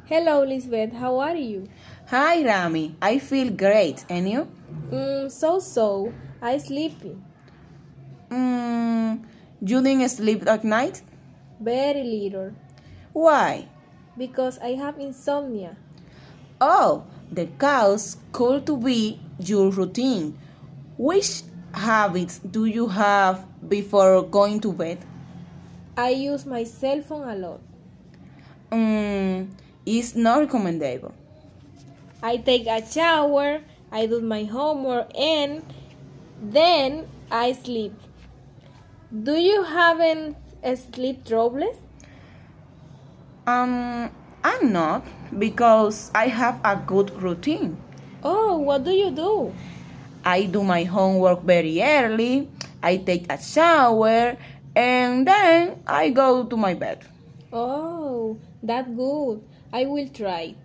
Hello, Lisbeth. How are you? Hi Rami, I feel great. And you? So. I sleepy. You didn't sleep at night? Very little. Why? Because I have insomnia. Oh, the cause could to be your routine. Which habits do you have before going to bed? I use my cell phone a lot. It's not recommendable. I take a shower, I do my homework, and then I sleep. Do you have sleep troubles? I'm not because I have a good routine. Oh, what do you do? I do my homework very early, I take a shower, and then I go to my bed. Oh, that's good. I will try it.